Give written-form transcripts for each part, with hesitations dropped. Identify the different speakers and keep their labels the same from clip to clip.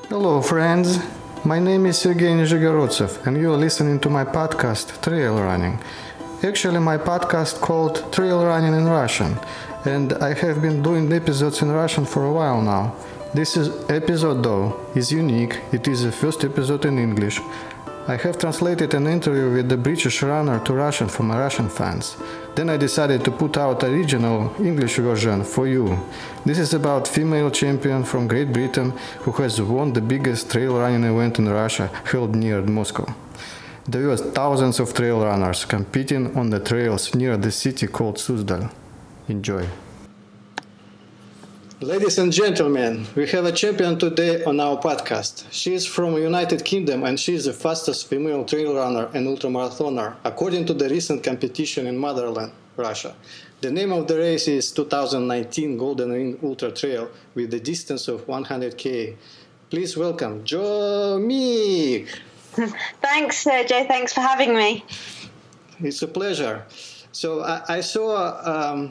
Speaker 1: Hello, friends. My name is Sergey Nizhegorодtsev, and you are listening to my podcast, Trail Running. Actually, my podcast called Trail Running in Russian, and I have been doing episodes in Russian for a while now. This episode, though, is unique. It is the first episode in English. I have translated an interview with the British runner to Russian for my Russian fans. Then I decided to put out original English version for you. This is about female champion from Great Britain who has won the biggest trail running event in Russia held near Moscow. There were thousands of trail runners competing on the trails near the city called Suzdal. Enjoy. Ladies and gentlemen, we have a champion today on our podcast. She is from United Kingdom and she is the fastest female trail runner and ultramarathoner, according to the recent competition in Motherland, Russia. The name of the race is 2019 Golden Ring Ultra Trail with a distance of 100 km. Please welcome Jo Meek.
Speaker 2: Thanks, Sergey. Thanks for having me.
Speaker 1: It's a pleasure. So I saw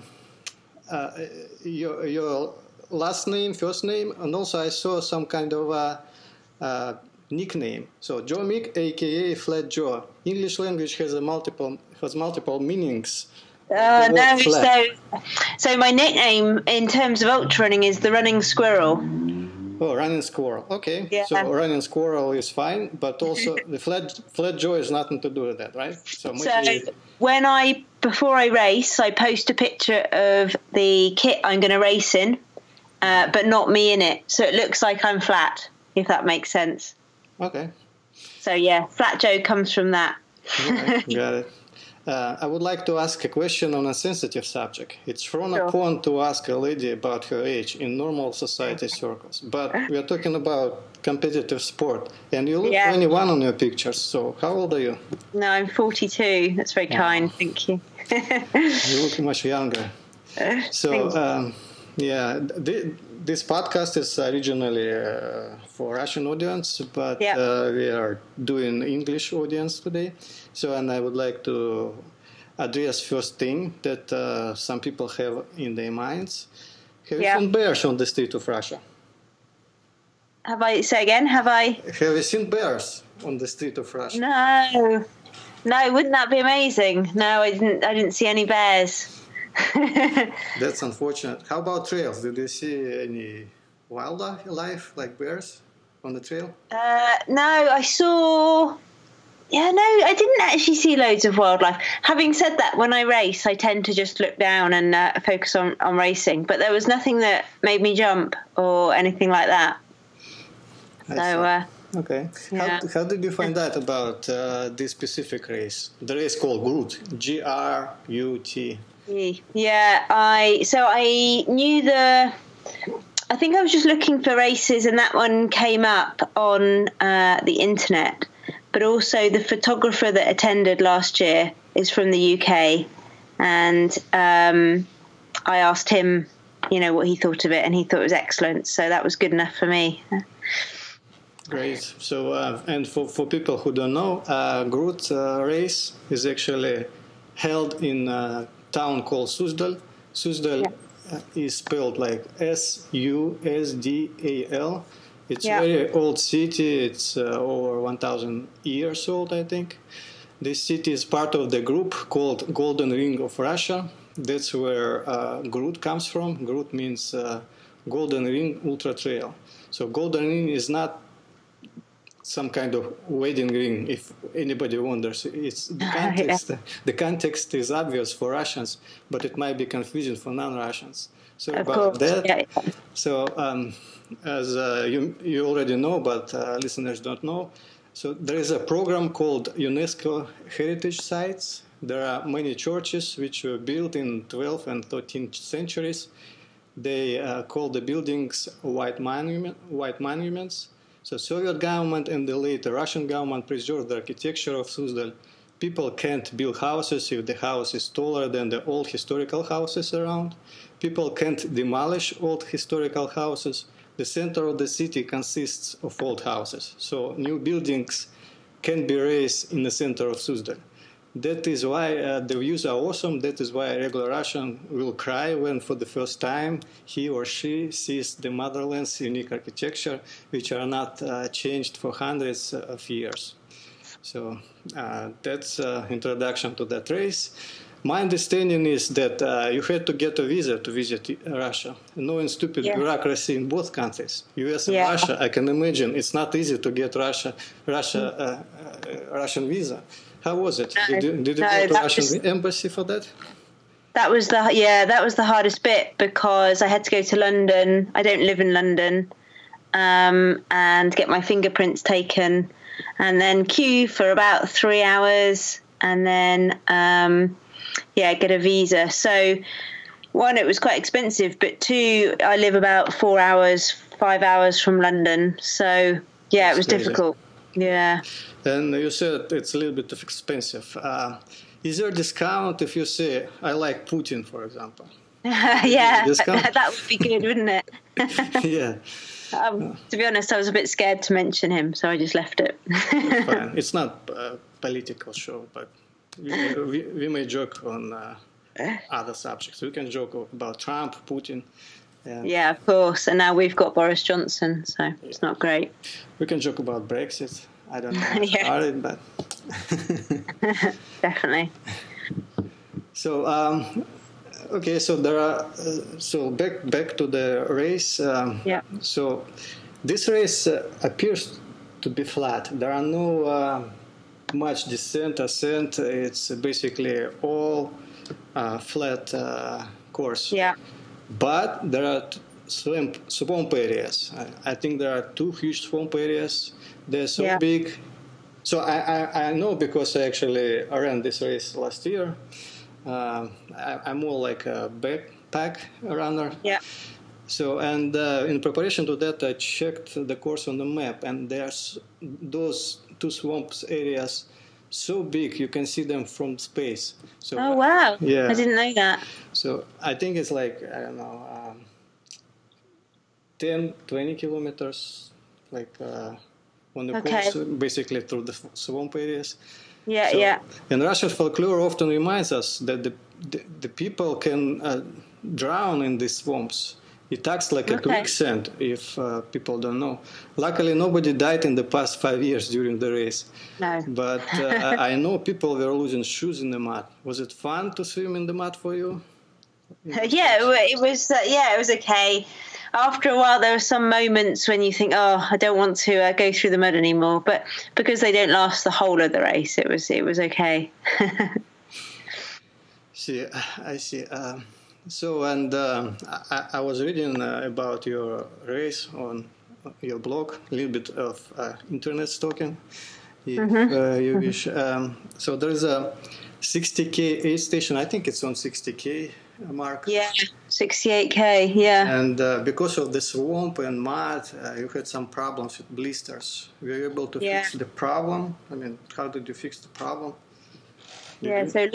Speaker 1: your last name, first name, and also I saw some kind of nickname. So Jo Meek, aka Flat Joe. English language has multiple meanings.
Speaker 2: No, so my nickname in terms of ultra running is the Running Squirrel.
Speaker 1: Oh, Running Squirrel. Okay.
Speaker 2: Yeah.
Speaker 1: So Running Squirrel is fine, but also the Flat Joe has nothing to do with that, right? So
Speaker 2: before I race, I post a picture of the kit I'm going to race in, but not me in it. So it looks like I'm flat, if that makes sense.
Speaker 1: Okay.
Speaker 2: So yeah, Flat Joe comes from that.
Speaker 1: Right, got it. I would like to ask a question on a sensitive subject. It's frowned upon to ask a lady about her age in normal society circles, but we are talking about competitive sport, and you look 21 on your pictures. So how old are you?
Speaker 2: No, I'm 42. That's very kind. Thank you.
Speaker 1: You look much younger. So this podcast is originally for Russian audience, but we are doing English audience today. So, and I would like to address first thing that some people have in their minds. Have you seen bears on the street of Russia?
Speaker 2: Have I? Say again. Have I?
Speaker 1: Have you seen bears on the street of Russia?
Speaker 2: No. Wouldn't that be amazing? No, I didn't see any bears.
Speaker 1: That's unfortunate. How about trails? Did you see any wildlife like bears on the trail?
Speaker 2: No, I saw. Yeah, no, I didn't actually see loads of wildlife. Having said that, when I race, I tend to just look down and focus on racing. But there was nothing that made me jump or anything like that.
Speaker 1: Okay. Yeah. How did you find out about this specific race? The race called GRUT. GRUT.
Speaker 2: Yeah, I knew I think I was just looking for races and that one came up on the internet. But also the photographer that attended last year is from the UK. And I asked him, what he thought of it, and he thought it was excellent. So that was good enough for me.
Speaker 1: Great. So, and for people who don't know, GRUT race is actually held in a town called Suzdal. Suzdal is spelled like Susdal. It's a very old city. It's over 1,000 years old, I think. This city is part of the group called Golden Ring of Russia. That's where GRUT comes from. GRUT means Golden Ring Ultra Trail. So Golden Ring is not some kind of wedding ring, if anybody wonders. It's the context. The context is obvious for Russians, but it might be confusing for non-Russians. So about that. Yeah. So as you already know, but listeners don't know, so there is a program called UNESCO Heritage Sites. There are many churches which were built in 12th and 13th centuries. They call the buildings white monuments. So Soviet government and the later Russian government preserved the architecture of Suzdal. People can't build houses if the house is taller than the old historical houses around. People can't demolish old historical houses. The center of the city consists of old houses. So new buildings can be raised in the center of Suzdal. That is why the views are awesome. That is why a regular Russian will cry when, for the first time, he or she sees the motherland's unique architecture, which are not changed for hundreds of years. So that's introduction to that race. My understanding is that you had to get a visa to visit Russia. Knowing stupid bureaucracy in both countries, US and Russia, I can imagine it's not easy to get Russian visa. How was it?
Speaker 2: No,
Speaker 1: did you go to Russian embassy for that?
Speaker 2: That was the hardest bit, because I had to go to London. I don't live in London, and get my fingerprints taken, and then queue for about 3 hours, and then get a visa. So, one, it was quite expensive, but two, I live about 5 hours from London. So, it was difficult. Yeah.
Speaker 1: And you said it's a little bit expensive. Is there a discount if you say, I like Putin, for example?
Speaker 2: That would be good, wouldn't it?
Speaker 1: Yeah.
Speaker 2: To be honest, I was a bit scared to mention him, so I just left it.
Speaker 1: Fine. It's not a political show, but we may joke on other subjects. We can joke about Trump, Putin.
Speaker 2: Yeah, of course. And now we've got Boris Johnson, so it's not great.
Speaker 1: We can joke about Brexit. I don't know about it, but
Speaker 2: definitely.
Speaker 1: So okay, so there are so back to the race. So this race appears to be flat. There are no much descent, ascent. It's basically all flat course.
Speaker 2: Yeah.
Speaker 1: But there are swamp areas. I think there are 2 huge swamp areas. They're so big. So I know, because I actually ran this race last year. I'm more like a backpack runner.
Speaker 2: Yeah.
Speaker 1: So, and in preparation to that, I checked the course on the map, and there's those 2 swamps areas so big you can see them from space. So,
Speaker 2: oh wow!
Speaker 1: Yeah,
Speaker 2: I didn't know that.
Speaker 1: So I think it's like, I don't know, 10-20 kilometers, like on the course, basically through the swamp areas.
Speaker 2: Yeah.
Speaker 1: And Russian folklore often reminds us that the people can drown in these swamps. It acts like a quicksand, if people don't know. Luckily, nobody died in the past 5 years during the race.
Speaker 2: No.
Speaker 1: But I know people were losing shoes in the mud. Was it fun to swim in the mud for you?
Speaker 2: It was. It was okay. After a while, there were some moments when you think, "Oh, I don't want to go through the mud anymore." But because they don't last the whole of the race, it was okay.
Speaker 1: I see. So, and I was reading about your race on your blog, a little bit of internet stalking, if you wish. So there is a 60K aid station. I think it's on 60K mark.
Speaker 2: Yeah, 68K, yeah.
Speaker 1: And because of the swamp and mud, you had some problems with blisters. Were you able to fix the problem? I mean, how did you fix the problem?
Speaker 2: So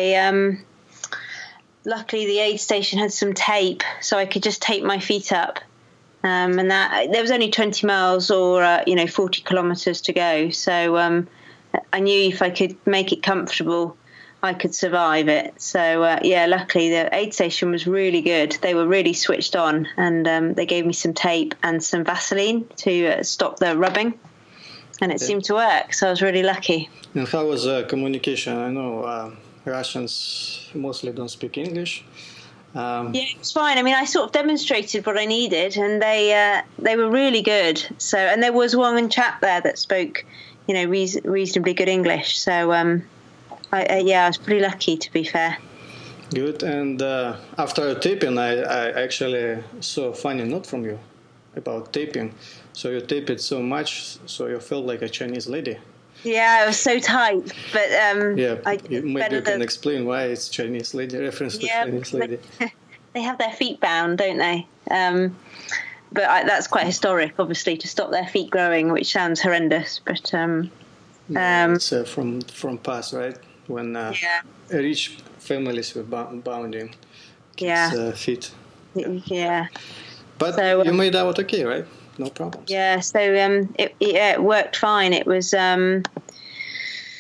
Speaker 2: luckily the aid station had some tape, so I could just tape my feet up. And that there was only 20 miles or 40 kilometers to go. So I knew if I could make it comfortable, I could survive it. So luckily the aid station was really good. They were really switched on, and they gave me some tape and some Vaseline to stop the rubbing, and it seemed to work. So I was really lucky.
Speaker 1: And how was communication? I know Russians mostly don't speak English.
Speaker 2: It's fine. I mean, I sort of demonstrated what I needed, and they were really good. So, and there was one chap there that spoke, reasonably good English. So, I was pretty lucky, to be fair.
Speaker 1: Good. And after taping, I actually saw a funny note from you about taping. So you taped it so much, so you felt like a Chinese lady.
Speaker 2: Yeah, it was so tight, but
Speaker 1: maybe you can explain why it's Chinese lady, reference to Chinese lady.
Speaker 2: They have their feet bound, don't they? But that's quite historic, obviously, to stop their feet growing, which sounds horrendous. But
Speaker 1: it's from past, right? When rich families were bounding kids' feet.
Speaker 2: Yeah.
Speaker 1: But so, you made out okay, right? No problems.
Speaker 2: Yeah, so it worked fine. It was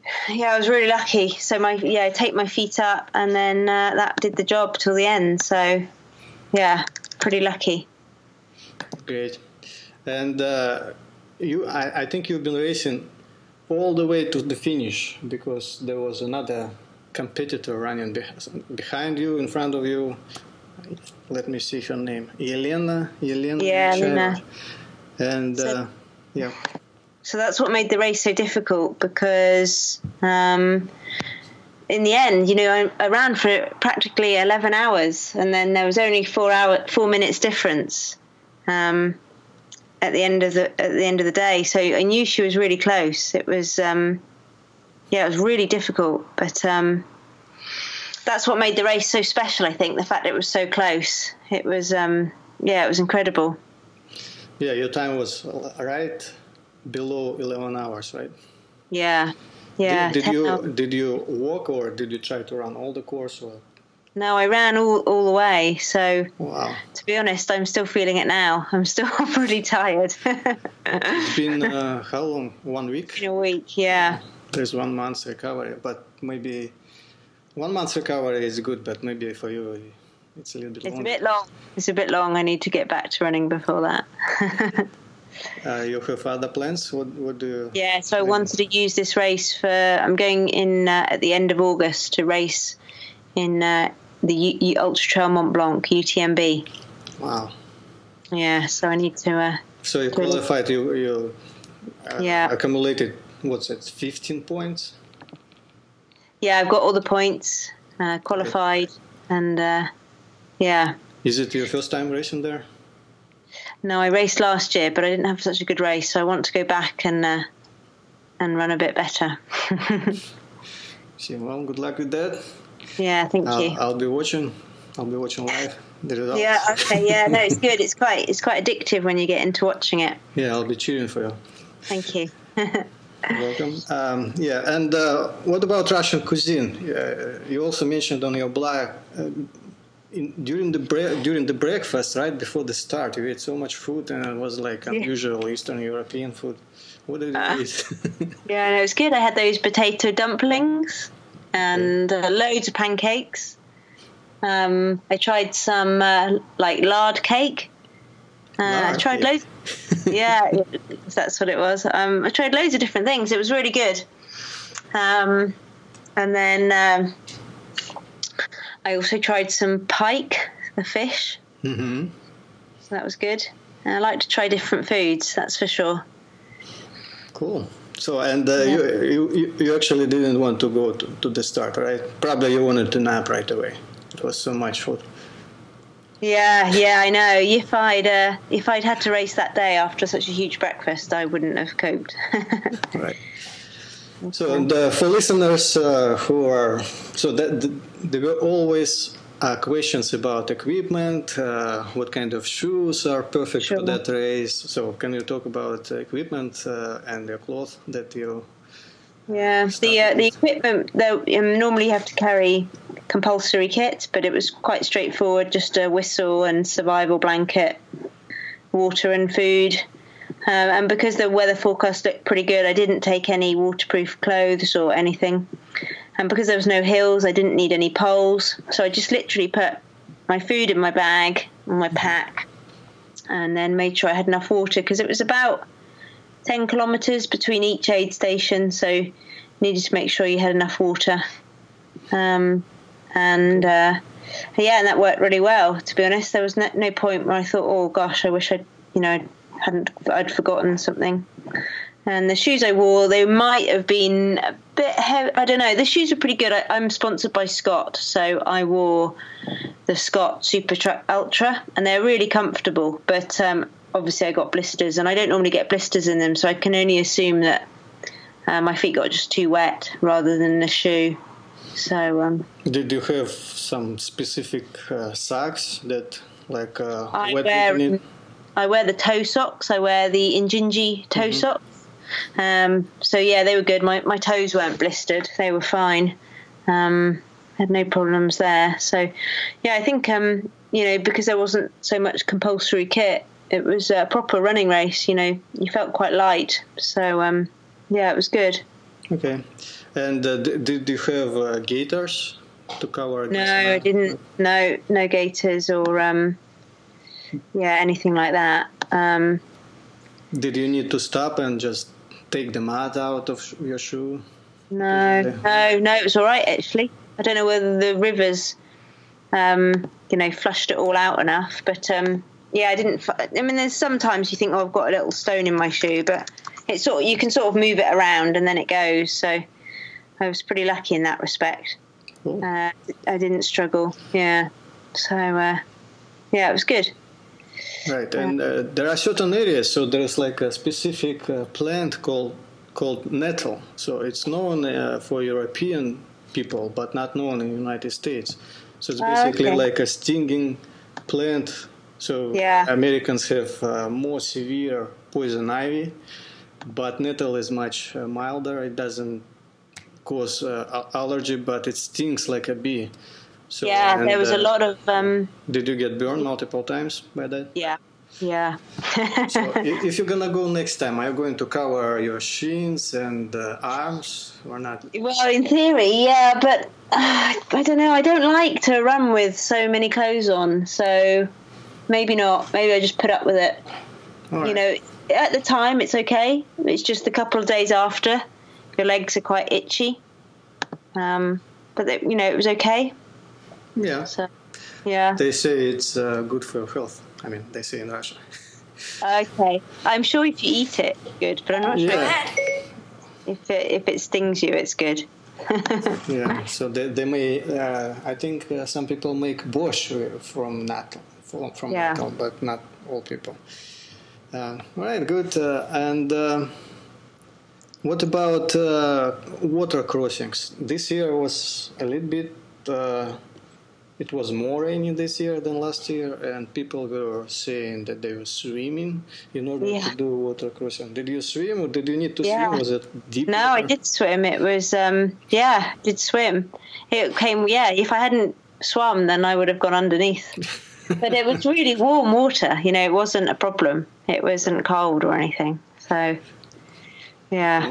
Speaker 2: Yeah, I was really lucky. So I take my feet up, and then that did the job till the end. So yeah, pretty lucky.
Speaker 1: Great. And I think you've been racing all the way to the finish, because there was another competitor running behind you, in front of you. Let me see her name. Yelena.
Speaker 2: Yeah, Elena.
Speaker 1: And yeah.
Speaker 2: So that's what made the race so difficult, because in the end, I ran for practically 11 hours, and then there was only 4 minutes difference at the end of the day. So I knew she was really close. It was it was really difficult, but that's what made the race so special. I think the fact it was so close. It was it was incredible.
Speaker 1: Yeah, your time was right below 11 hours, right?
Speaker 2: Yeah.
Speaker 1: Did you walk, or did you try to run all the course? Or?
Speaker 2: No, I ran all the way. So
Speaker 1: wow.
Speaker 2: To be honest, I'm still feeling it now. I'm still pretty tired.
Speaker 1: It's been how long? 1 week?
Speaker 2: It's been a week, yeah.
Speaker 1: There's 1 month recovery, but maybe 1 month recovery is good, but maybe for you it's a little bit long.
Speaker 2: It's a bit long. I need to get back to running before that.
Speaker 1: You have other plans? What do you...
Speaker 2: Yeah, so I wanted to use this race for... I'm going in at the end of August to race in the Ultra Trail Mont Blanc, UTMB.
Speaker 1: Wow.
Speaker 2: Yeah, so I need to...
Speaker 1: so you qualified, you accumulated, 15 points?
Speaker 2: Yeah, I've got all the points, qualified, and yeah.
Speaker 1: Is it your first time racing there?
Speaker 2: No, I raced last year, but I didn't have such a good race, so I want to go back and run a bit better.
Speaker 1: Well, good luck with that.
Speaker 2: Yeah, thank you.
Speaker 1: I'll be watching live the results.
Speaker 2: Yeah, okay, yeah, no, it's good. It's quite addictive when you get into watching it.
Speaker 1: Yeah, I'll be cheering for you.
Speaker 2: Thank you.
Speaker 1: You're welcome. And what about Russian cuisine? You also mentioned on your blog during the breakfast, right before the start, you ate so much food, and it was like unusual Eastern European food. What did you eat?
Speaker 2: Yeah, no, it was good. I had those potato dumplings and loads of pancakes. I tried some lard cake. I tried loads. Yeah, that's what it was. I tried loads of different things. It was really good. And then I also tried some pike, the fish.
Speaker 1: Mm-hmm.
Speaker 2: So that was good. And I like to try different foods, that's for sure.
Speaker 1: Cool. So, and you actually didn't want to go to the start, right? Probably you wanted to nap right away. It was so much food. Yeah,
Speaker 2: I know. If I'd had to race that day after such a huge breakfast, I wouldn't have coped.
Speaker 1: Right. So, and for listeners who are there were always questions about equipment, what kind of shoes are perfect for that race. So, can you talk about equipment and your clothes that you?
Speaker 2: Yeah, the equipment. Normally you have to carry compulsory kit, but it was quite straightforward. Just a whistle and survival blanket, water and food. And because the weather forecast looked pretty good, I didn't take any waterproof clothes or anything. And because there was no hills, I didn't need any poles. So I just literally put my food in my bag, in my pack, and then made sure I had enough water, because it was about 10 kilometres between each aid station. So you needed to make sure you had enough water. And that worked really well, to be honest. There was no point where I thought, oh gosh, I wish I'd forgotten something. And the shoes I wore, they might have been a bit heavy. I don't know. The shoes are pretty good. I'm sponsored by Scott, so I wore the Scott Supertrac Ultra, and they're really comfortable. But obviously I got blisters, and I don't normally get blisters in them, so I can only assume that my feet got just too wet rather than the shoe. So
Speaker 1: did you have some specific socks that
Speaker 2: I wear the toe socks. I wear the Injinji toe socks. So yeah, they were good. My toes weren't blistered. They were fine. Had no problems there. So yeah, I think because there wasn't so much compulsory kit, it was a proper running race. You felt quite light. So yeah, it was good.
Speaker 1: Okay. And did you have gaiters to cover?
Speaker 2: No, I didn't. No gaiters or anything like that.
Speaker 1: Did you need to stop and just take the mud out of your shoe?
Speaker 2: No, it was all right actually. I don't know whether the rivers, flushed it all out enough, but I didn't. I mean, there's sometimes you think, oh, I've got a little stone in my shoe, but it's you can sort of move it around and then it goes. So I was pretty lucky in that respect.
Speaker 1: Cool.
Speaker 2: I didn't struggle. Yeah. So it was good.
Speaker 1: Right, and there are certain areas. So there's like a specific plant called nettle. So it's known for European people, but not known in the United States. So it's basically like a stinging plant. So Americans have more severe poison ivy, but nettle is much milder. It doesn't cause allergy, but it stings like a bee. So,
Speaker 2: there was a lot of...
Speaker 1: did you get burned multiple times by that?
Speaker 2: Yeah.
Speaker 1: So if you're going to go next time, are you going to cover your shins and arms or not?
Speaker 2: Well, in theory, yeah, but I don't know. I don't like to run with so many clothes on, so maybe not. Maybe I just put up with it. Right. At the time, it's okay. It's just a couple of days after. Your legs are quite itchy. But, it was okay.
Speaker 1: Yeah.
Speaker 2: So, yeah.
Speaker 1: They say it's good for your health. I mean, they say in Russia.
Speaker 2: Okay. I'm sure if you eat it, it's good, but I'm not sure if it stings you, it's good.
Speaker 1: Yeah. So they may, I think some people make borscht from nettle, nettle, but not all people. All right, good. And what about water crossings? This year was a little bit... it was more rainy this year than last year, and people were saying that they were swimming in order to do water crossing. Did you swim, or did you need to swim? Was it deep?
Speaker 2: No, I did swim. It was, did swim. It came, if I hadn't swum, then I would have gone underneath. But it was really warm water. It wasn't a problem. It wasn't cold or anything. So, yeah.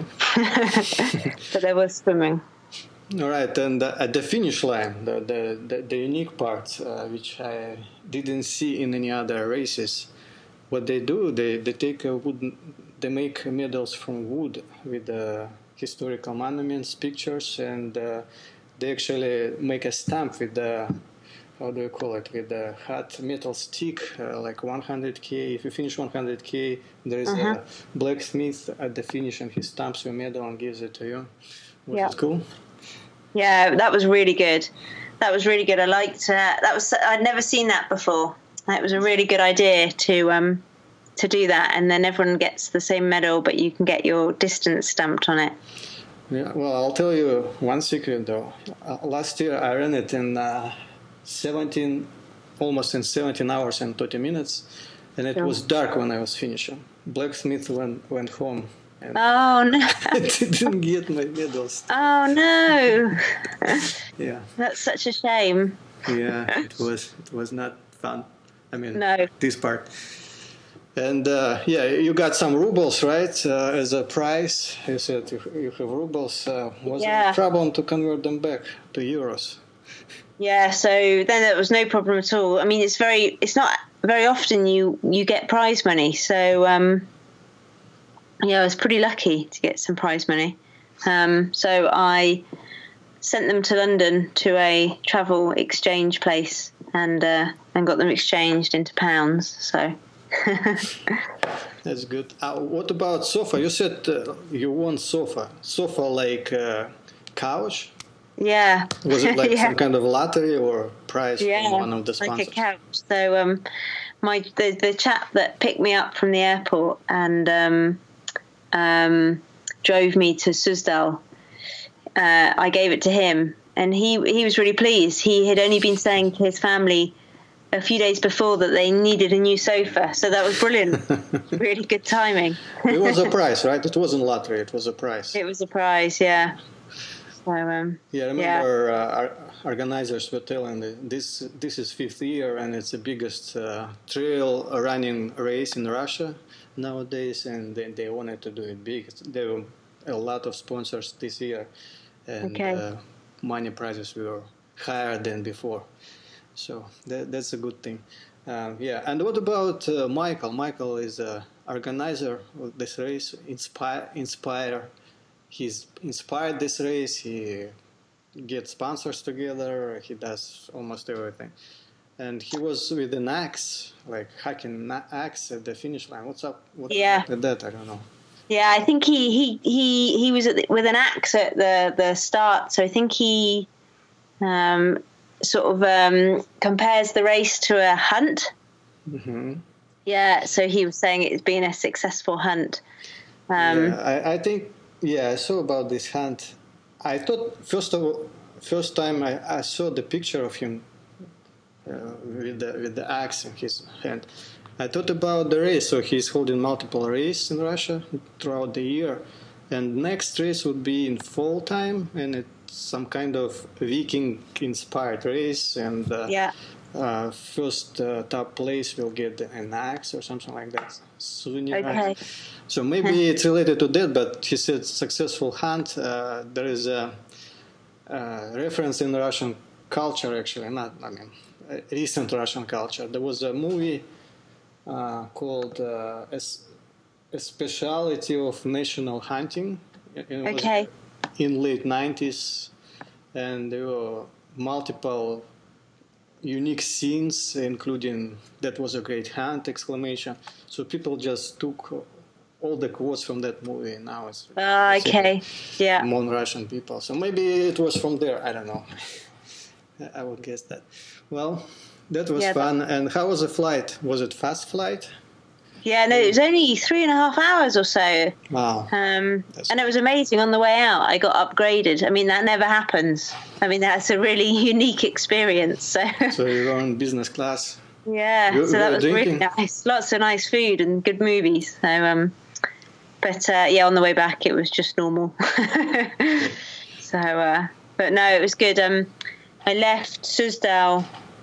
Speaker 2: But there was swimming.
Speaker 1: All right, and at the finish line, the unique part, which I didn't see in any other races, what they do, they take they make medals from wood with historical monuments, pictures, and they actually make a stamp with the, how do you call it, with the hot metal stick, like 100K. If you finish 100K, there is a blacksmith at the finish, and he stamps your medal and gives it to you. Was it cool?
Speaker 2: Yeah, that was really good. I liked that. I'd never seen that before. It was a really good idea to do that, and then everyone gets the same medal, but you can get your distance stamped on it.
Speaker 1: Yeah, well, I'll tell you one secret though. Last year I ran it in almost in 17 hours and 30 minutes, and it was dark when I was finishing. Blacksmith went home.
Speaker 2: Oh no!
Speaker 1: I didn't get my medals.
Speaker 2: Oh no!
Speaker 1: Yeah.
Speaker 2: That's such a shame.
Speaker 1: Yeah, it was not fun. I mean,
Speaker 2: no.
Speaker 1: This part. And you got some rubles, right? As a prize. You said you have rubles. Was there a problem to convert them back to euros? Yeah.
Speaker 2: So then there was no problem at all. I mean, it's not very often you get prize money. So. I was pretty lucky to get some prize money. So I sent them to London to a travel exchange place and got them exchanged into pounds. So
Speaker 1: that's good. What about sofa? You said you won sofa. Sofa like couch?
Speaker 2: Yeah.
Speaker 1: Was it like some kind of lottery or prize from one of the sponsors?
Speaker 2: Like a couch. So the chap that picked me up from the airport and drove me to Suzdal. I gave it to him, and he was really pleased. He had only been saying to his family a few days before that they needed a new sofa, so that was brilliant. Really good timing.
Speaker 1: It was a prize, right? It wasn't lottery. It was a prize.
Speaker 2: It was a prize, yeah. So,
Speaker 1: I remember organizers were telling this is 5th year, and it's the biggest trail running race in Russia nowadays, and they wanted to do it big. There were a lot of sponsors this year, and
Speaker 2: Okay.
Speaker 1: money prices were higher than before. So that's a good thing. Yeah. And what about Michael? Michael is a organizer of this race. He's inspired this race. He gets sponsors together. He does almost everything. And he was with an axe, like hacking an axe at the finish line. What's up? What's up with that? I don't know.
Speaker 2: Yeah, I think he was with an axe at the start. So I think he compares the race to a hunt.
Speaker 1: Mm-hmm.
Speaker 2: Yeah, so he was saying it's been a successful hunt.
Speaker 1: I think, I saw about this hunt. I thought, first time I saw the picture of him with the axe in his hand, I thought about the race. So he's holding multiple races in Russia throughout the year. And next race would be in fall time, and it's some kind of Viking-inspired race. And first top place will get an axe or something like that. Souvenir axe. So maybe it's related to that, but he said successful hunt. There is a reference in Russian culture, actually, recent Russian culture. There was a movie called A Speciality of National Hunting. In late 90s, and there were multiple unique scenes, including "that was a great hunt!" exclamation. So people just took all the quotes from that movie. Now it's among Russian people. So maybe it was from there. I don't know. I would guess that. Well, that was fun. And how was the flight? Was it fast flight?
Speaker 2: Yeah, no, it was only 3.5 hours or so.
Speaker 1: Wow.
Speaker 2: And it was amazing on the way out. I got upgraded. I mean, that never happens. I mean, that's a really unique experience. So
Speaker 1: you were in business class?
Speaker 2: Yeah, so that was drinking? Really nice. Lots of nice food and good movies. So, on the way back, it was just normal. But no, it was good. I left Suzdal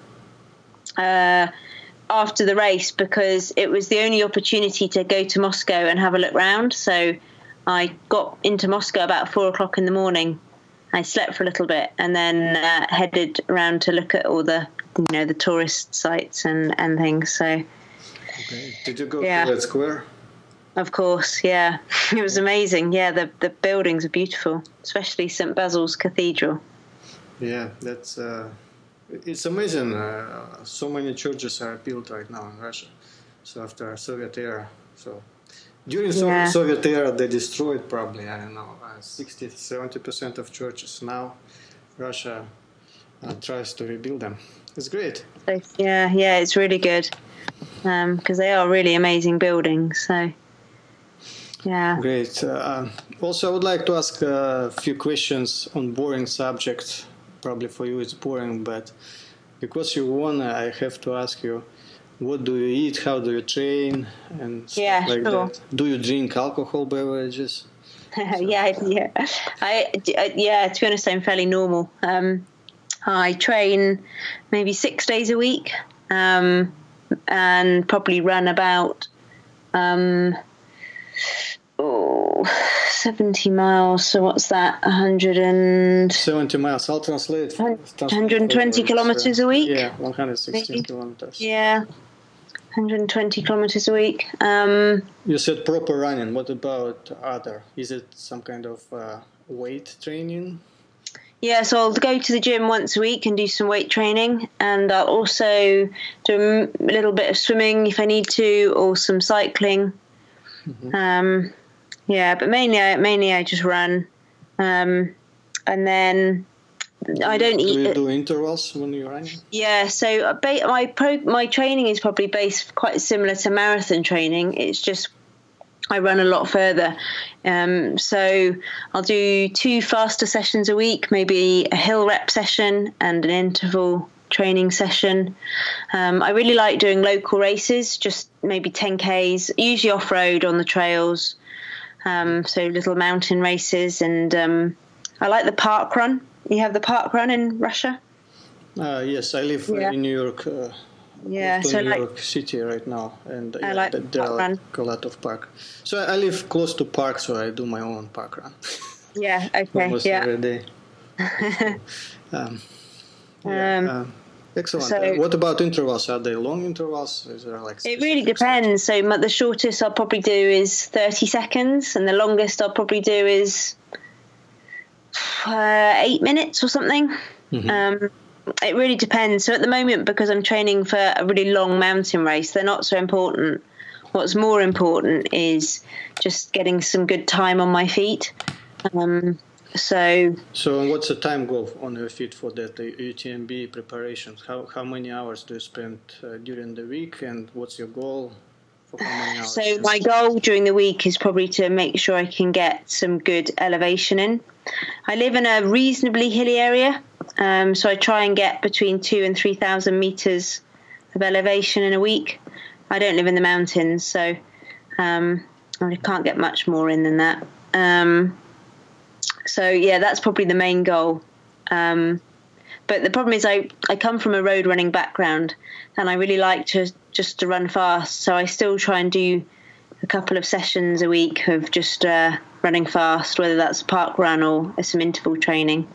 Speaker 2: after the race because it was the only opportunity to go to Moscow and have a look round. So I got into Moscow about 4:00 in the morning. I slept for a little bit and then headed around to look at all the tourist sites and things. So,
Speaker 1: okay. Did you go to that square?
Speaker 2: Of course, yeah. It was amazing. Yeah, the buildings are beautiful, especially St. Basil's Cathedral.
Speaker 1: Yeah, that's it's amazing. So many churches are built right now in Russia. So after Soviet era, during Soviet era, they destroyed probably 60-70% of churches. Now, Russia tries to rebuild them. It's great.
Speaker 2: Yeah, it's really good because they are really amazing buildings. So, yeah.
Speaker 1: Great. Also, I would like to ask a few questions on boring subjects. Probably for you it's boring, but because you won, I have to ask you, what do you eat? How do you train? And stuff like that. Do you drink alcohol beverages?
Speaker 2: Yeah. To be honest, I'm fairly normal. I train maybe 6 days a week, and probably run about 70 miles. So what's that?
Speaker 1: 70 miles. I'll translate.
Speaker 2: 120 kilometers a week.
Speaker 1: Yeah, 116 kilometers.
Speaker 2: Yeah, 120 kilometers a week.
Speaker 1: You said proper running. What about other? Is it some kind of weight training?
Speaker 2: Yeah, so I'll go to the gym once a week and do some weight training, and I'll also do a little bit of swimming if I need to, or some cycling. Mm-hmm. But mainly I just run, and then I don't eat.
Speaker 1: Do you do intervals when you're running?
Speaker 2: Yeah, so my training is probably based quite similar to marathon training. It's just I run a lot further. So I'll do 2 faster sessions a week, maybe a hill rep session and an interval training session. I really like doing local races, just maybe 10Ks, usually off-road on the trails. So little mountain races, and I like the park run. You have the park run in Russia?
Speaker 1: Yes, I live in New York. New York City right now, and there are a lot of park. So I live close to park, so I do my own park run.
Speaker 2: Yeah. Okay.
Speaker 1: almost every day. Excellent.
Speaker 2: So,
Speaker 1: what about intervals? Are they long intervals? Is there like
Speaker 2: it really depends. So the shortest I'll probably do is 30 seconds, and the longest I'll probably do is 8 minutes or something.
Speaker 1: Mm-hmm.
Speaker 2: It really depends. So at the moment, because I'm training for a really long mountain race, they're not so important. What's more important is just getting some good time on my feet. So
Speaker 1: what's the time goal on your feet for that UTMB preparations? How many hours do you spend during the week, and what's your goal for how many hours?
Speaker 2: So my goal during the week is probably to make sure I can get some good elevation in. I live in a reasonably hilly area, so I try and get between 2,000 and 3,000 meters of elevation in a week. I don't live in the mountains, so I can't get much more in than that. So yeah, that's probably the main goal. But the problem is I come from a road running background, and I really like to run fast. So I still try and do a couple of sessions a week of just running fast, whether that's a park run or some interval training.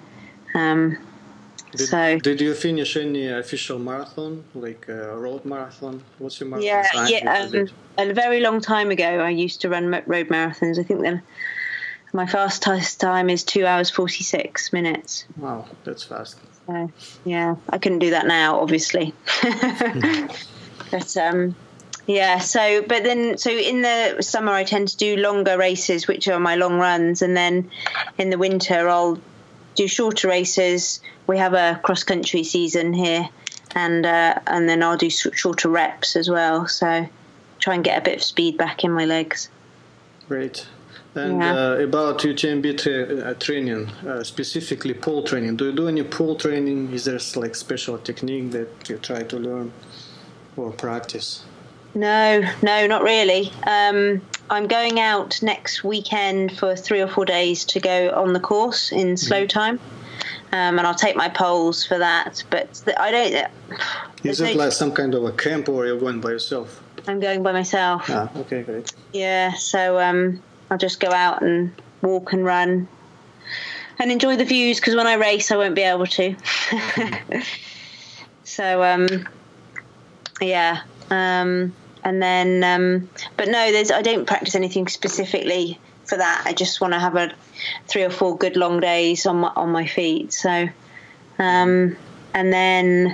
Speaker 1: Did you finish any official marathon, like a road marathon? What's your marathon time?
Speaker 2: Yeah. A very long time ago, I used to run road marathons. I think then my fastest time is 2 hours 46 minutes.
Speaker 1: Wow, that's fast.
Speaker 2: Yeah, I couldn't do that now, obviously. But yeah. So in the summer, I tend to do longer races, which are my long runs, and then in the winter, I'll do shorter races. We have a cross country season here, and then I'll do shorter reps as well. So try and get a bit of speed back in my legs.
Speaker 1: Great. And about UTMB training, specifically pole training. Do you do any pole training? Is there like special technique that you try to learn or practice?
Speaker 2: No, not really. I'm going out next weekend for 3 or 4 days to go on the course in slow time. And I'll take my poles for that. But I don't...
Speaker 1: Is it like some kind of a camp, or you're going by yourself?
Speaker 2: I'm going by myself.
Speaker 1: Okay, great.
Speaker 2: Yeah, so I'll just go out and walk and run and enjoy the views, because when I race I won't be able to. So yeah, and then but no, I don't practice anything specifically for that. I just want to have 3 or 4 good long days on my feet. So and then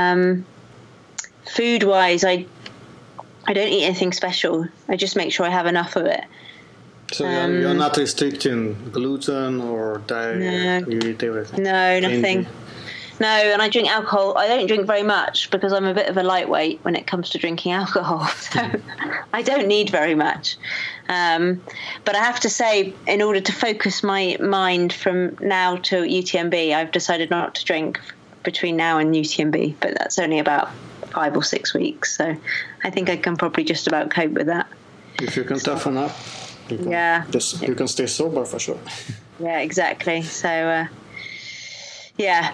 Speaker 2: food wise, I don't eat anything special. I just make sure I have enough of it.
Speaker 1: So you're not restricting gluten or diet?
Speaker 2: No.
Speaker 1: You eat everything?
Speaker 2: No, nothing. No, and I drink alcohol. I don't drink very much because I'm a bit of a lightweight when it comes to drinking alcohol. So I don't need very much. But I have to say, in order to focus my mind from now to UTMB, I've decided not to drink between now and UTMB. But that's only about 5 or 6 weeks. So I think I can probably just about cope with that.
Speaker 1: If you can toughen up. You can stay sober for sure.
Speaker 2: Yeah, exactly. So, yeah.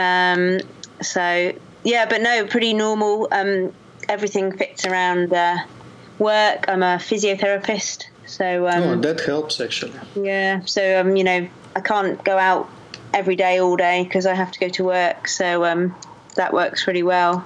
Speaker 2: But no, pretty normal. Everything fits around work. I'm a physiotherapist. So,
Speaker 1: that helps actually.
Speaker 2: Yeah. So, I can't go out every day, all day, because I have to go to work. So, that works really well.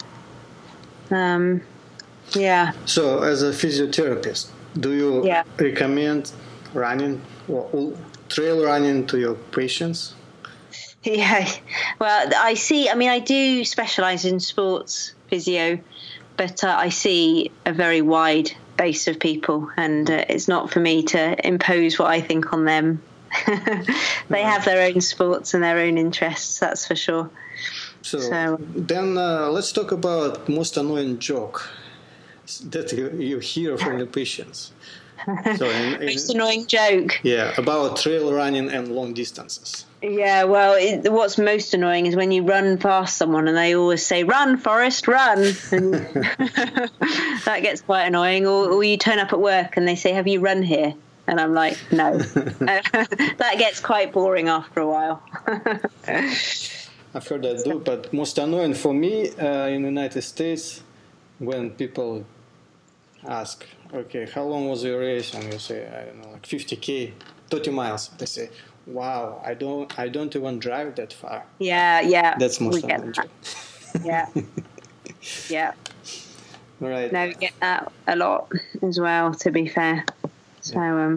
Speaker 2: Yeah.
Speaker 1: So, as a physiotherapist, do you recommend running or trail running to your patients?
Speaker 2: Yeah, well, I do specialise in sports physio, but I see a very wide base of people, and it's not for me to impose what I think on them. They have their own sports and their own interests, that's for sure.
Speaker 1: So then let's talk about most annoying joke that you hear from the patients. So
Speaker 2: most annoying joke.
Speaker 1: Yeah, about trail running and long distances.
Speaker 2: Yeah, well, what's most annoying is when you run past someone and they always say, "Run, Forrest, run." And that gets quite annoying. Or you turn up at work and they say, "Have you run here?" And I'm like, "No." That gets quite boring after a while.
Speaker 1: I've heard that too, but most annoying for me in the United States, when people ask, "Okay, how long was your race?" and you say, "I don't know, like 50K." 30 miles. They say, wow, I don't even drive that far.
Speaker 2: Yeah.
Speaker 1: That's most
Speaker 2: we get
Speaker 1: unusual.
Speaker 2: that. Yeah.
Speaker 1: Right.
Speaker 2: No, we get that a lot as well, to be fair. So,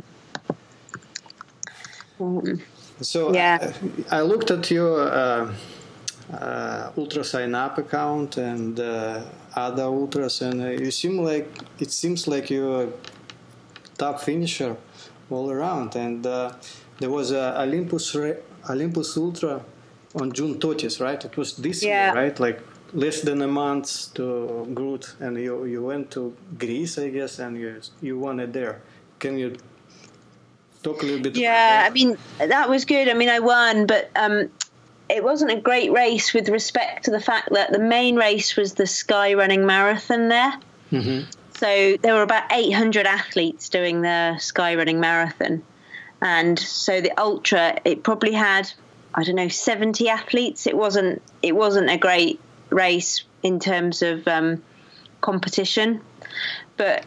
Speaker 1: So
Speaker 2: yeah.
Speaker 1: I looked at your ultra sign up account and other ultras, and it seems like you're a top finisher all around. And there was a Olympus Ultra on June 30th, right? It was this year, right? Like less than a month to Groot, and you went to Greece, I guess, and you won it there. Can you talk a little bit about that?
Speaker 2: I mean, that was good. I mean, I won, but it wasn't a great race with respect to the fact that the main race was the Sky Running Marathon there.
Speaker 1: Mm-hmm.
Speaker 2: So there were about 800 athletes doing the Sky Running Marathon. And so the Ultra, it probably had, 70 athletes. It wasn't a great race in terms of competition. But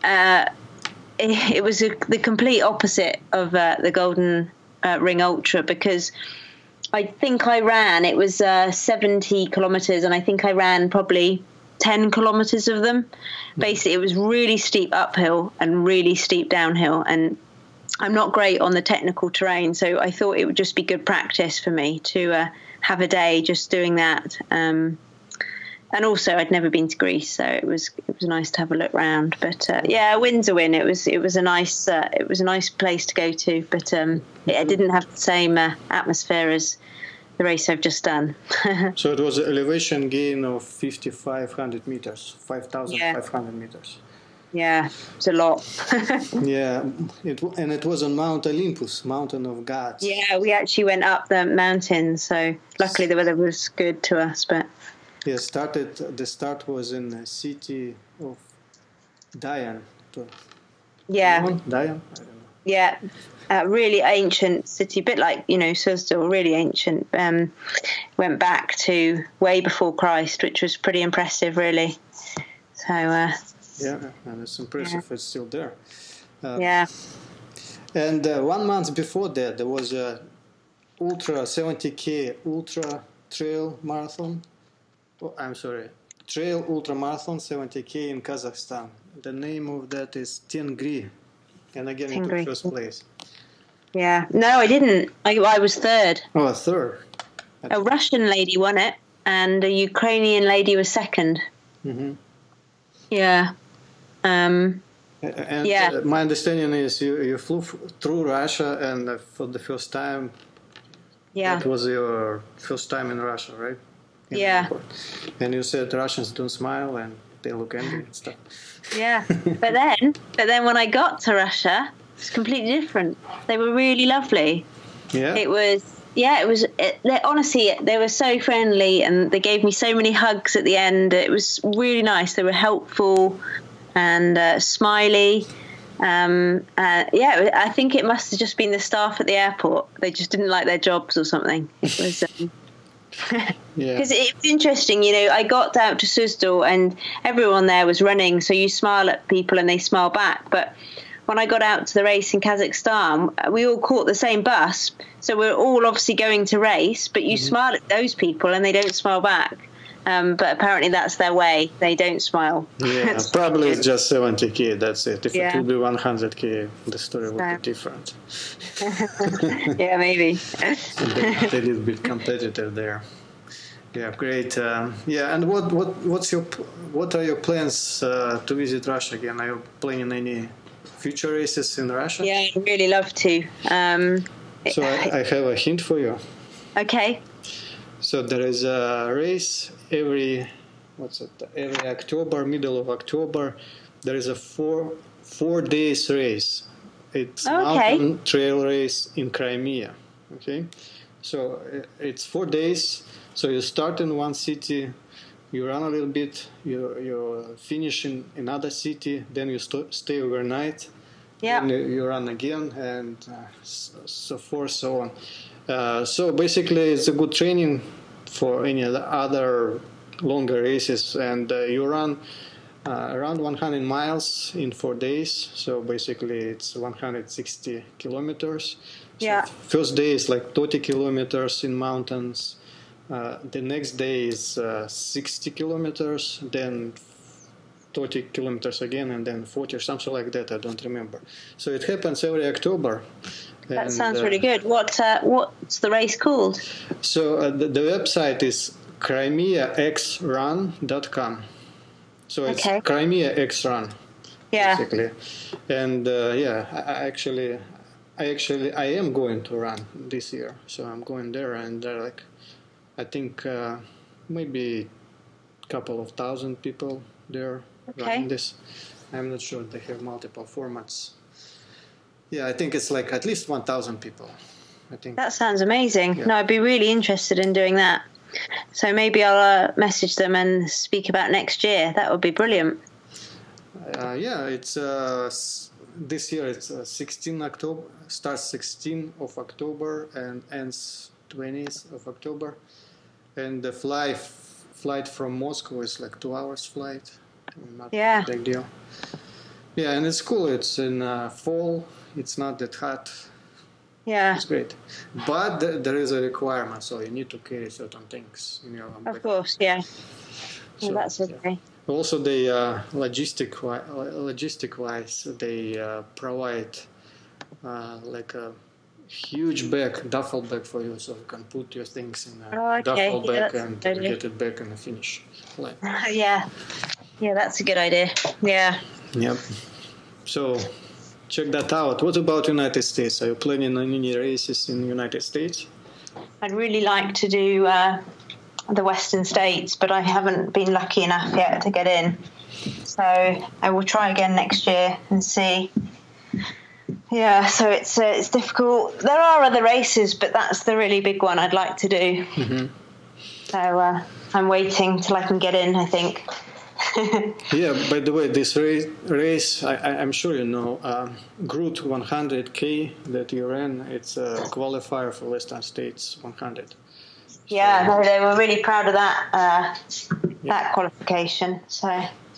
Speaker 2: it was the complete opposite of the Golden Ring Ultra, because I think I ran, it was 70 kilometers, and I think I ran probably 10 kilometers of them. Basically, it was really steep uphill and really steep downhill, and I'm not great on the technical terrain, so I thought it would just be good practice for me to have a day just doing that. And also, I'd never been to Greece, so it was nice to have a look round. But a win's a win. It was a nice place to go to, but it didn't have the same atmosphere as the race I've just done.
Speaker 1: So it was an elevation gain of 5,500 meters, 5,500 meters.
Speaker 2: Yeah, it's a lot.
Speaker 1: Yeah, it was on Mount Olympus, Mountain of Gods.
Speaker 2: Yeah, we actually went up the mountain, so luckily the weather was good to us. But
Speaker 1: yeah, the start was in the city of Dayan.
Speaker 2: Yeah.
Speaker 1: Dayan? I don't know.
Speaker 2: Yeah, really ancient city, a bit like, Suzdal, really ancient. Went back to way before Christ, which was pretty impressive, really. So.
Speaker 1: Yeah, and it's impressive. It's still there.
Speaker 2: Yeah.
Speaker 1: And 1 month before that, there was a ultra 70K ultra trail marathon. Oh, I'm sorry, trail ultra marathon 70K in Kazakhstan. The name of that is Tengri, and again you took first place.
Speaker 2: Yeah, no, I didn't. I was third.
Speaker 1: Oh, third.
Speaker 2: A Russian lady won it, and a Ukrainian lady was second.
Speaker 1: Mm-hmm.
Speaker 2: Yeah.
Speaker 1: My understanding is you flew through Russia, and for the first time, that was your first time in Russia, right? And you said Russians don't smile and they look angry and stuff. Yeah,
Speaker 2: but then when I got to Russia, it's completely different. They were really lovely.
Speaker 1: Yeah.
Speaker 2: Honestly, they were so friendly, and they gave me so many hugs at the end. It was really nice. They were helpful and smiley. I think it must have just been the staff at the airport. They just didn't like their jobs or something. It was because it's interesting. I got out to Suzdal and everyone there was running, so you smile at people and they smile back. But when I got out to the race in Kazakhstan, we all caught the same bus, so we're all obviously going to race, but you smile at those people and they don't smile back. But apparently that's their way. They don't smile.
Speaker 1: Yeah, probably it's just 70K, that's it. If it would be 100K, the story would be different.
Speaker 2: Yeah, maybe.
Speaker 1: They're a little bit competitive there. Yeah, great. And what are your plans to visit Russia again? Are you planning any future races in Russia?
Speaker 2: Yeah, I'd really love to.
Speaker 1: So I have a hint for you.
Speaker 2: Okay.
Speaker 1: So there is a race every October, middle of October. There is a 4 days race. It's mountain trail race in Crimea. Okay, so it's 4 days. So you start in one city, you run a little bit, you finish in another city, then you stay overnight.
Speaker 2: Yeah.
Speaker 1: Then you run again, and so forth, so on. So basically, it's a good training for any other longer races, and you run around 100 miles in 4 days. So basically, it's 160 kilometers. So
Speaker 2: Yeah.
Speaker 1: first day is like 30 kilometers in mountains. The next day is 60 kilometers, then 30 kilometers again, and then 40 or something like that. I don't remember. So it happens every October.
Speaker 2: That sounds really good. What's the race called?
Speaker 1: So the website is CrimeaXRun.com. So it's
Speaker 2: Okay.
Speaker 1: Crimea X Run,
Speaker 2: Yeah.
Speaker 1: basically. And I am going to run this year. So I'm going there, and I think maybe a couple of thousand people there running this. I'm not sure. They have multiple formats. Yeah, I think it's like at least 1,000 people. I think.
Speaker 2: That sounds amazing.
Speaker 1: Yeah.
Speaker 2: No, I'd be really interested in doing that. So maybe I'll message them and speak about next year. That would be brilliant.
Speaker 1: It's this year. It's 16 October. Starts 16 of October and ends 20th of October. And the flight from Moscow is like 2 hours flight. Not a big deal. Yeah, and it's cool. It's in fall. It's not that hot.
Speaker 2: Yeah.
Speaker 1: It's great. But there is a requirement, so you need to carry certain things in your backpack.
Speaker 2: Of course, yeah.
Speaker 1: So,
Speaker 2: Well, that's okay.
Speaker 1: Yeah. Also, they logistic-wise, they provide like a huge duffel bag for you, so you can put your things in a duffel bag and get it back in the finish line.
Speaker 2: Yeah, that's a good idea. Yeah.
Speaker 1: Yep. So check that out. What about United States? Are you planning on any races in the United States?
Speaker 2: I'd really like to do the Western States, but I haven't been lucky enough yet to get in. So I will try again next year and see. Yeah, so it's difficult. There are other races, but that's the really big one I'd like to do. Mm-hmm. So I'm waiting till I can get in, I think.
Speaker 1: Yeah, by the way, this race I'm sure you know, Groot 100K that you ran, it's a qualifier for Western States 100.
Speaker 2: Yeah, no, they were really proud of that that qualification. So.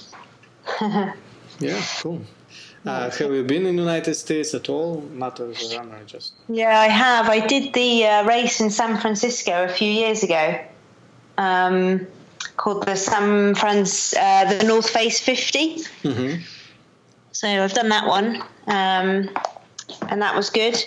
Speaker 1: Yeah, cool. Have you been in the United States at all? Not as a runner, just.
Speaker 2: Yeah, I have. I did the race in San Francisco a few years ago, called the North Face 50. Mm-hmm. So I've done that one, and that was good.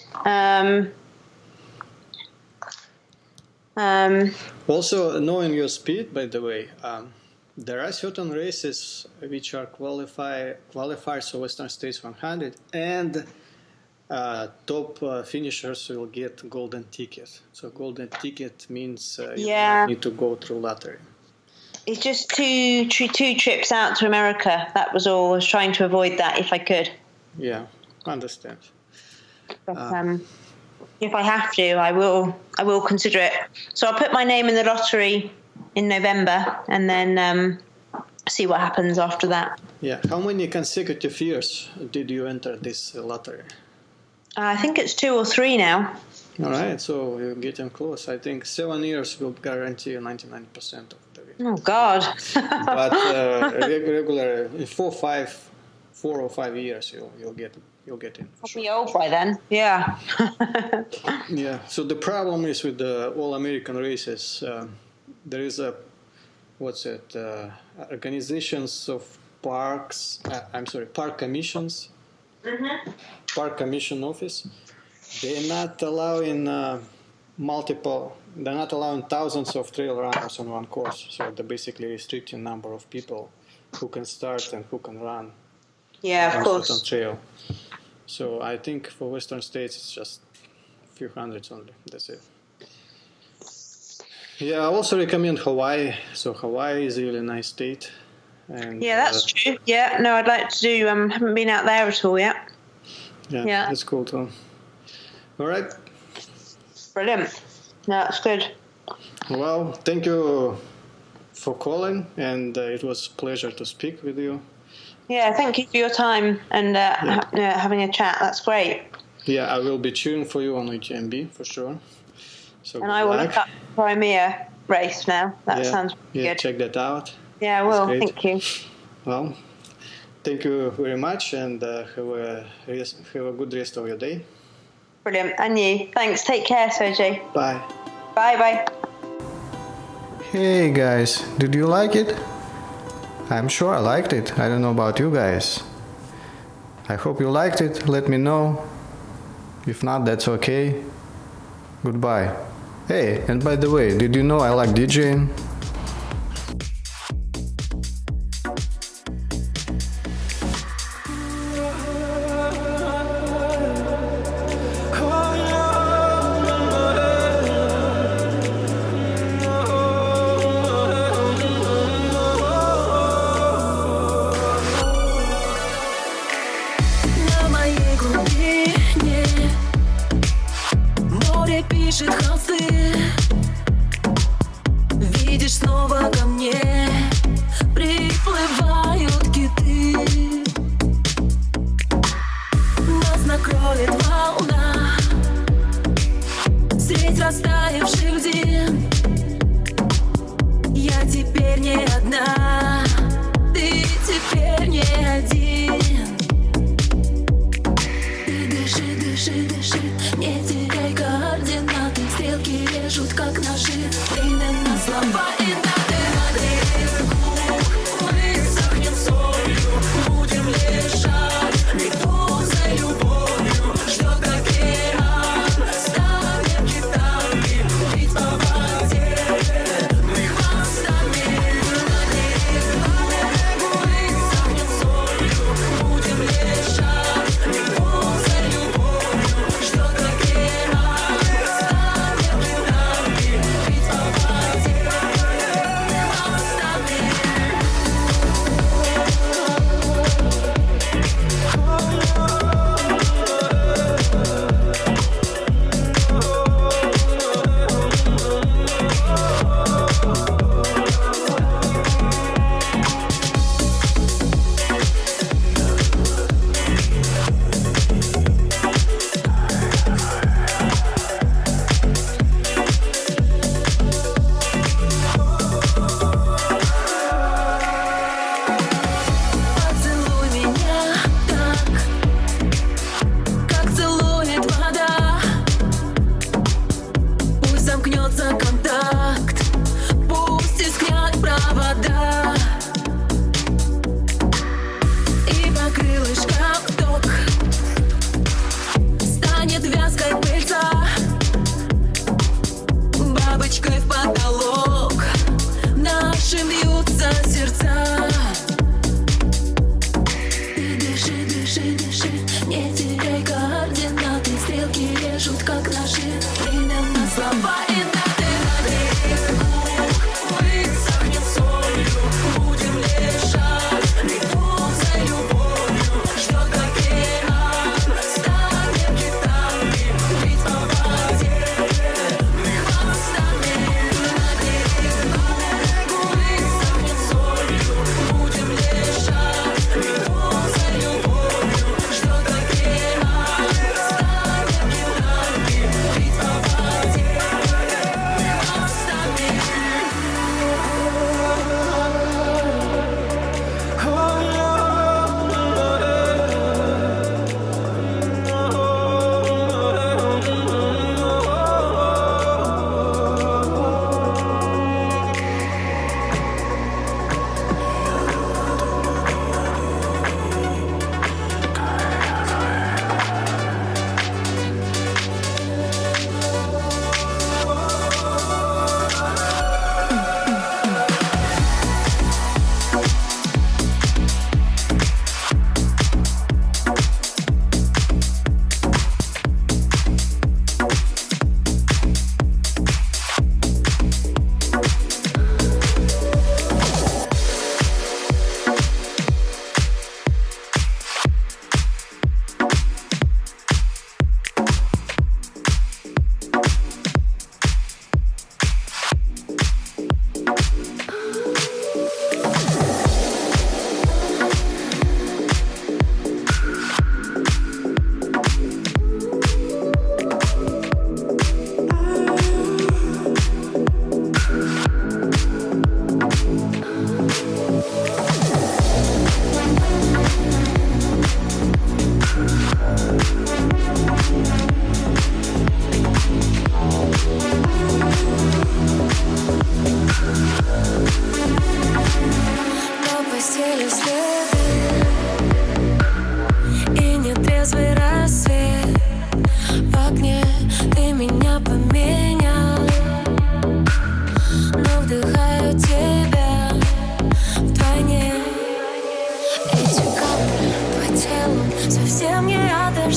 Speaker 1: Also, knowing your speed, by the way, there are certain races which are qualifiers for Western States 100, and top finishers will get golden ticket. So golden ticket means you don't need to go through lottery.
Speaker 2: It's just two trips out to America. That was all. I was trying to avoid that if I could.
Speaker 1: Yeah, understand.
Speaker 2: But if I have to, I will consider it. So I'll put my name in the lottery in November, and then see what happens after that.
Speaker 1: Yeah. How many consecutive years did you enter this lottery?
Speaker 2: I think it's 2 or 3 now.
Speaker 1: All right, so you're getting close. I think 7 years will guarantee 99% of the win.
Speaker 2: Oh God!
Speaker 1: But regular 4 or 5 years you'll get in.
Speaker 2: I'll be old by then. Yeah.
Speaker 1: Yeah. So the problem is with the all American races. There is organizations of parks. Park commissions. Mm-hmm. Park commission office. They're not allowing They're not allowing thousands of trail runners on one course. So they're basically restricting number of people who can start and who can run.
Speaker 2: Yeah, of course.
Speaker 1: On trail. So I think for Western States it's just a few hundreds only. That's it. Yeah, I also recommend Hawaii. So Hawaii is a really nice state. And,
Speaker 2: yeah, that's true. Yeah, no, I'd like to do. Haven't been out there at all yet.
Speaker 1: Yeah, that's cool too. All right.
Speaker 2: Brilliant. No, that's good.
Speaker 1: Well, thank you for calling, and it was a pleasure to speak with you.
Speaker 2: Yeah, thank you for your time and having a chat. That's great.
Speaker 1: Yeah, I will be cheering for you on UTMB for sure. So
Speaker 2: and I will look up Crimea race now. That sounds good.
Speaker 1: Yeah, check that out.
Speaker 2: Yeah, I will. Thank you.
Speaker 1: Well, Thank you very much, and have a good rest of your day.
Speaker 2: Brilliant. And you. Thanks. Take care, Sergey.
Speaker 1: Bye.
Speaker 2: Bye.
Speaker 1: Hey guys, did you like it? I'm sure I liked it. I don't know about you guys. I hope you liked it. Let me know. If not, that's okay. Goodbye. Hey, and by the way, did you know I like DJing?
Speaker 3: На моей глубине море пишет холсты. Видишь, снова ко мне приплывают киты. Нас накроет волна средь растаявших льдин. Я теперь не одна, ты теперь не один. Ты дыши, дыши, дыши, не теряй координаты. Стрелки режут, как ножи. Время на слова и даты. Мы сохнем солью, будем лежать, иду за любовью. Ждет океан, станем китами, плыть по воде, мы хвостами. Мы сохнем солью, будем лежать, иду за любовью. Ждет океан, станем китами, плыть по воде.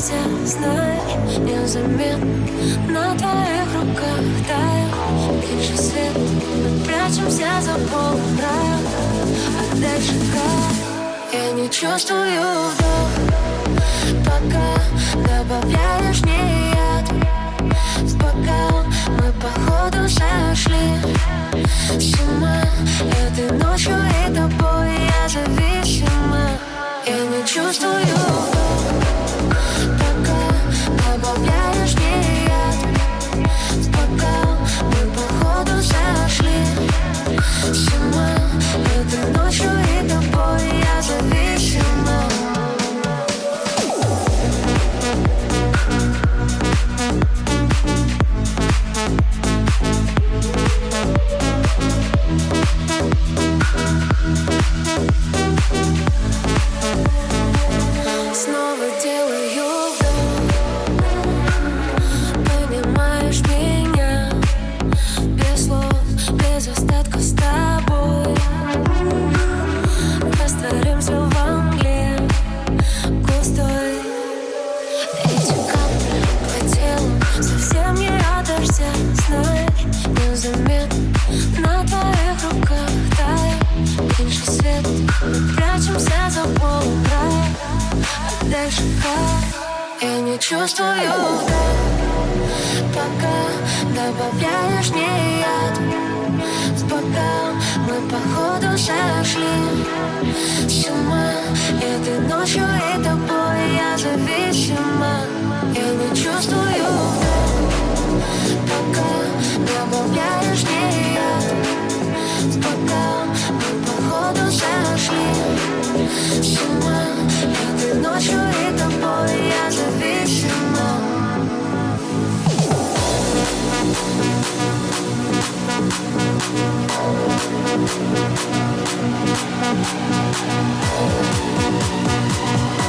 Speaker 3: прячемся, знай, незаметно на твоих руках тает меньше свет. Мы прячемся за полным раем, а дальше как? Я не чувствую вдох, пока добавляешь мне яд в бокал. Мы походу сошли с ума этой ночью и тобой я зависима. Я не чувствую вдох, пока добавляешь мне яд в бокал. Мы походу сошли с ума этой ночью и тобой я зависима. Снова делаю вдох, понимаешь меня, без слов, без остатка с тобой. Растворимся во мгле густой. Эти капли по телу совсем не от дождя, знай, незаметно на твоих руках тает меньше свет. Мы прячемся за полным раем, а дальше как? Я не чувствую вдох, пока добавляешь мне яд в бокал. Мы походу сошли с ума этой ночью и тобой я зависима. Я не чувствую вдох, пока добавляешь мне яд в бокал. Мы походу сошли с ума этой ночью и тобой я зависима.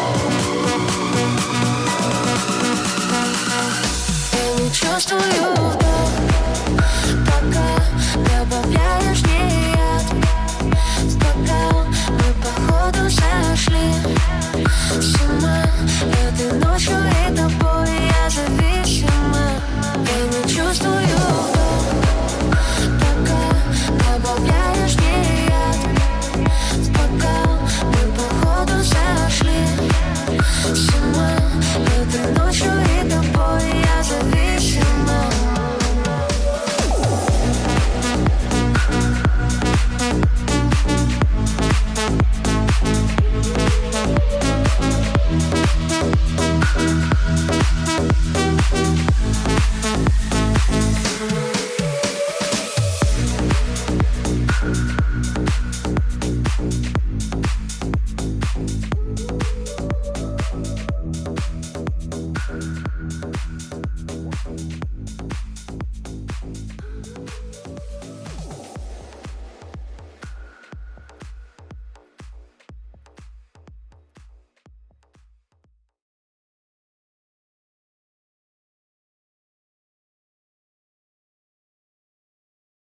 Speaker 3: Я не чувствую